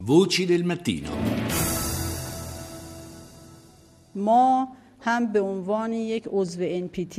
Voci del mattino. ما هم به عنوان یک عضو NPT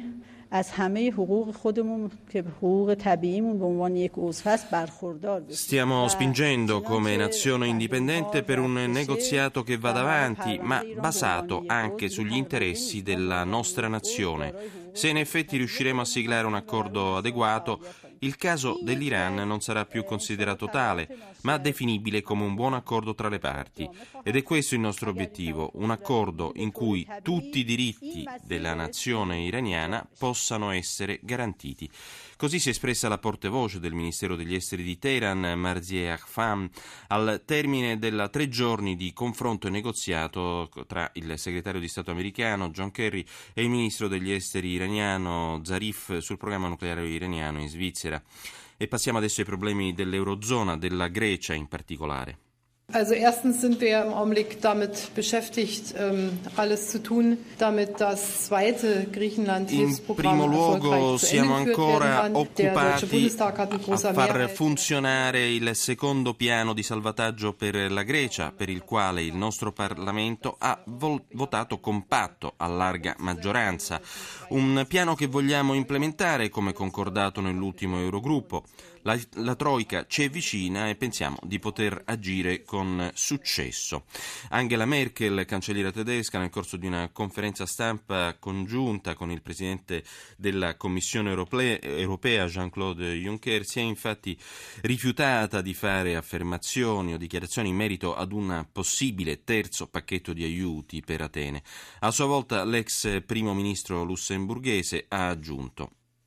از همه حقوق خودمون که حقوق طبیعیمون به عنوان یک عضو هست برخوردار بشیم. Stiamo spingendo come nazione indipendente per un negoziato che vada avanti, ma basato anche sugli interessi della nostra nazione. Se in effetti riusciremo a siglare un accordo adeguato, il caso dell'Iran non sarà più considerato tale, ma definibile come un buon accordo tra le parti. Ed è questo il nostro obiettivo, un accordo in cui tutti i diritti della nazione iraniana possano essere garantiti. Così si è espressa la portavoce del Ministero degli Esteri di Teheran, Marzieh Akfam, al termine della 3 giorni di confronto e negoziato tra il segretario di Stato americano John Kerry e il ministro degli Esteri iraniano Zarif sul programma nucleare iraniano in Svizzera. E passiamo adesso ai problemi dell'Eurozona, della Grecia in particolare. Also erstens sind wir im Augenblick damit beschäftigt, alles zu tun, damit das zweite Griechenland-Hilfsprogramm In primo luogo erfolgreich zu siamo Ende geführt werden ancora kann. Der Deutsche occupati Bundestag hat mit a großer far Mehrheit funzionare il secondo piano di salvataggio per la Grecia, per il quale il nostro Parlamento ha votato compatto a larga maggioranza. Un piano che vogliamo implementare come concordato nell'ultimo Eurogruppo. La Troika ci è vicina e pensiamo di poter agire con successo. Angela Merkel, cancelliera tedesca, nel corso di una conferenza stampa congiunta con il presidente della Commissione europea Jean-Claude Juncker, si è infatti rifiutata di fare affermazioni o dichiarazioni in merito ad un possibile terzo pacchetto di aiuti per Atene. A sua volta l'ex primo ministro lussemburghese ha aggiunto: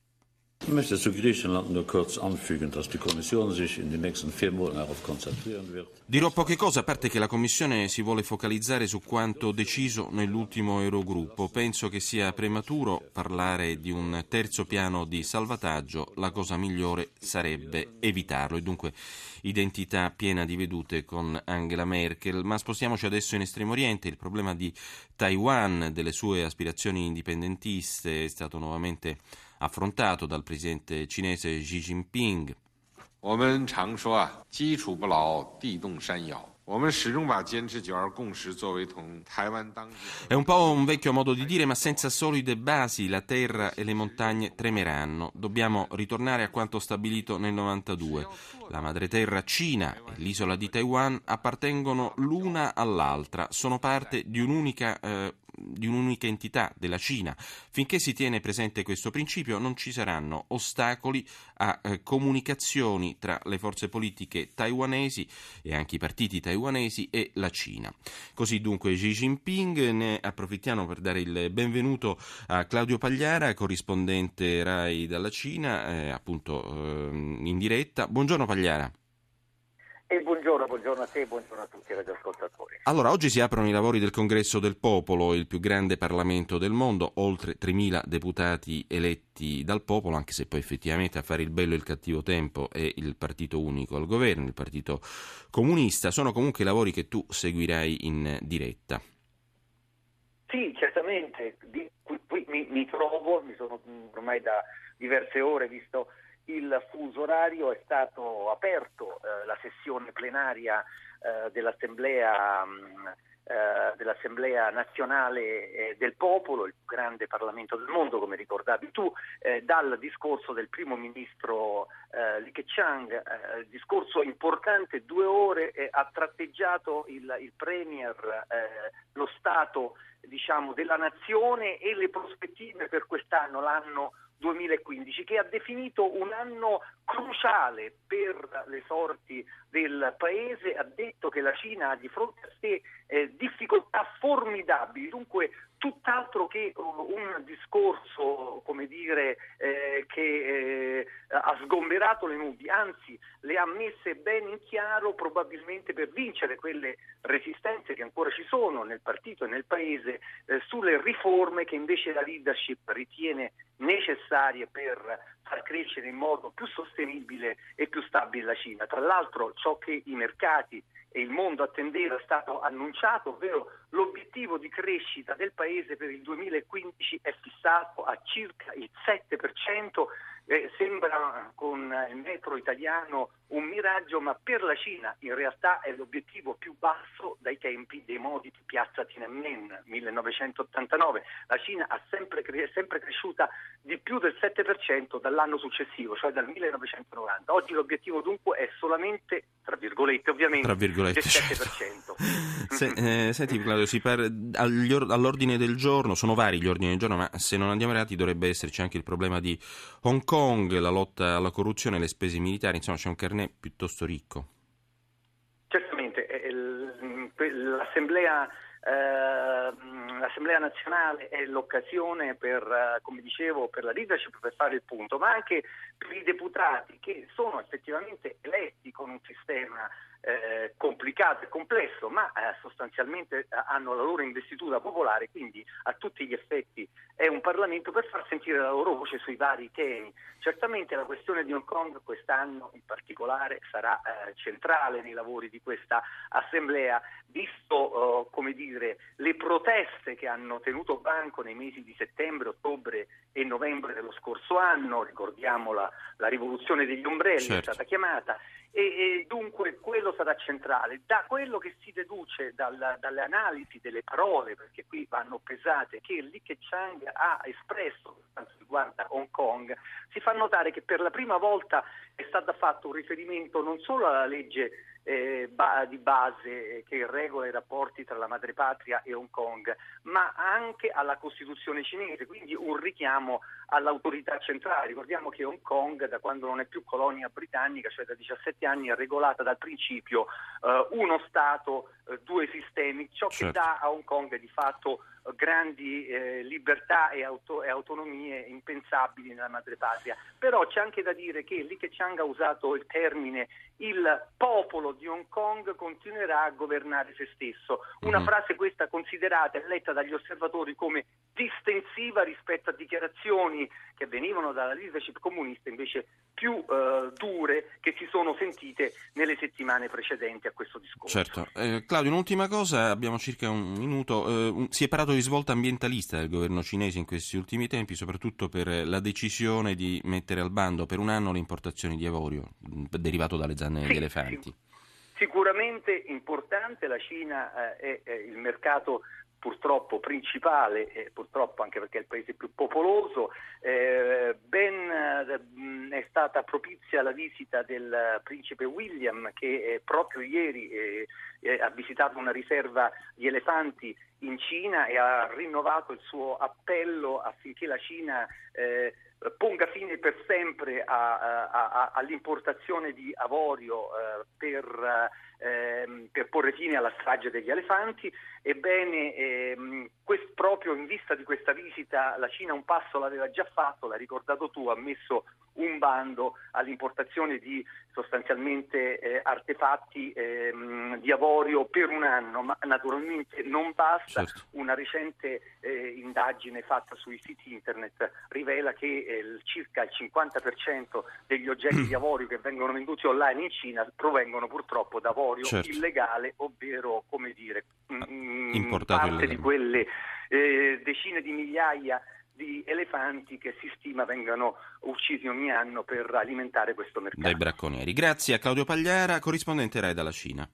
Ich möchte zu Griechenland nur kurz anfügen, dass die Kommission sich in den nächsten 4 Monaten darauf konzentrieren wird. Dirò poche cose, a parte che la Commissione si vuole focalizzare su quanto deciso nell'ultimo Eurogruppo. Penso che sia prematuro parlare di un terzo piano di salvataggio, la cosa migliore sarebbe evitarlo. E dunque identità piena di vedute con Angela Merkel. Ma spostiamoci adesso in Estremo Oriente. Il problema di Taiwan, delle sue aspirazioni indipendentiste, è stato nuovamente affrontato dal presidente cinese Xi Jinping. 我们常说啊，基础不牢，地动山摇。我们始终把坚持九二共识作为同台湾当局。 È un po' un vecchio modo di dire, ma senza solide basi la terra e le montagne tremeranno. Dobbiamo ritornare a quanto stabilito nel 92. La madreterra Cina e l'isola di Taiwan appartengono l'una all'altra, sono parte di un'unica entità della Cina. Finché si tiene presente questo principio non ci saranno ostacoli a comunicazioni tra le forze politiche taiwanesi e anche i partiti taiwanesi e la Cina. Così dunque Xi Jinping. Ne approfittiamo per dare il benvenuto a Claudio Pagliara, corrispondente RAI dalla Cina, appunto in diretta. Buongiorno Pagliara. E buongiorno a te e buongiorno a tutti i radioascoltatori. Allora, oggi si aprono i lavori del Congresso del Popolo, il più grande Parlamento del mondo, oltre 3.000 deputati eletti dal popolo, anche se poi effettivamente a fare il bello e il cattivo tempo è il partito unico al governo, il Partito Comunista. Sono comunque i lavori che tu seguirai in diretta. Sì, certamente, qui mi trovo, mi sono ormai da diverse ore, visto il fuso orario, è stato aperto la sessione plenaria dell'Assemblea nazionale del popolo, il più grande Parlamento del mondo, come ricordavi tu, dal discorso del primo ministro Li Keqiang, discorso importante, 2 ore, ha tratteggiato il premier, lo stato diciamo della nazione e le prospettive per quest'anno, l'anno 2015, che ha definito un anno cruciale per le sorti del paese. Ha detto che la Cina ha di fronte a sé difficoltà formidabili, dunque tutt'altro che un discorso, come dire, che ha sgomberato le nubi, anzi le ha messe ben in chiaro, probabilmente per vincere quelle resistenze che ancora ci sono nel partito e nel paese sulle riforme che invece la leadership ritiene necessarie per far crescere in modo più sostenibile e più stabile la Cina. Tra l'altro ciò che i mercati e il mondo attendeva è stato annunciato, ovvero l'obiettivo di crescita del paese per il 2015 è fissato a circa il 7%, Sembra con il metro italiano un miraggio, ma per la Cina in realtà è l'obiettivo più basso dai tempi dei modi di piazza Tiananmen 1989. La Cina è sempre cresciuta di più del 7% dall'anno successivo, cioè dal 1990. Oggi l'obiettivo dunque è solamente, tra virgolette ovviamente, del 7%. Senti Claudio, all'ordine del giorno, sono vari gli ordini del giorno, ma se non andiamo errati dovrebbe esserci anche il problema di Hong Kong, la lotta alla corruzione e le spese militari, insomma c'è un carnet piuttosto ricco. Certamente, l'Assemblea nazionale è l'occasione per, come dicevo, per la leadership, per fare il punto, ma anche per i deputati che sono effettivamente eletti con un sistema complicato e complesso, ma sostanzialmente hanno la loro investitura popolare, quindi a tutti gli effetti è un Parlamento per far sentire la loro voce sui vari temi. Certamente la questione di Hong Kong quest'anno in particolare sarà centrale nei lavori di questa assemblea, visto le proteste che hanno tenuto banco nei mesi di settembre, ottobre e novembre dello scorso anno. Ricordiamo la rivoluzione degli ombrelli, certo, è stata chiamata, e dunque quello sarà centrale. Da quello che si deduce dalle analisi delle parole, perché qui vanno pesate, che Li Keqiang ha espresso per quanto riguarda Hong Kong, si fa notare che per la prima volta è stato fatto un riferimento non solo alla legge di base che regola i rapporti tra la madrepatria e Hong Kong, ma anche alla Costituzione cinese, quindi un richiamo all'autorità centrale. Ricordiamo che Hong Kong, da quando non è più colonia britannica, cioè da 17 anni, è regolata dal principio uno Stato, due sistemi, ciò che dà a Hong Kong di fatto grandi libertà e autonomie impensabili nella madrepatria. Però c'è anche da dire che Li Keqiang ha usato il termine "il popolo di Hong Kong continuerà a governare se stesso", una frase questa considerata e letta dagli osservatori come distensiva rispetto a dichiarazioni che venivano dalla leadership comunista invece più dure che si sono sentite nelle settimane precedenti a questo discorso. Certo. Claudio, un'ultima cosa, abbiamo circa un minuto. Si è parlato di svolta ambientalista del governo cinese in questi ultimi tempi, soprattutto per la decisione di mettere al bando per un anno le importazioni di avorio derivato dalle zanne di elefanti. Sicuramente importante, la Cina è il mercato purtroppo principale, purtroppo anche perché è il paese più popoloso. È stata propizia la visita del principe William, che proprio ieri ha visitato una riserva di elefanti in Cina e ha rinnovato il suo appello affinché la Cina ponga fine per sempre all'importazione di avorio per porre fine alla strage degli elefanti. Ebbene, proprio in vista di questa visita la Cina un passo l'aveva già fatto, l'hai ricordato tu, ha messo un bando all'importazione di sostanzialmente artefatti di avorio per un anno, ma naturalmente non basta. Certo. Una recente indagine fatta sui siti internet rivela che circa il 50% degli oggetti di avorio che vengono venduti online in Cina provengono purtroppo da avorio illegale, ovvero, come dire, importato parte di quelle decine di migliaia di elefanti che si stima vengano uccisi ogni anno per alimentare questo mercato. Dai bracconieri. Grazie a Claudio Pagliara, corrispondente Rai dalla Cina.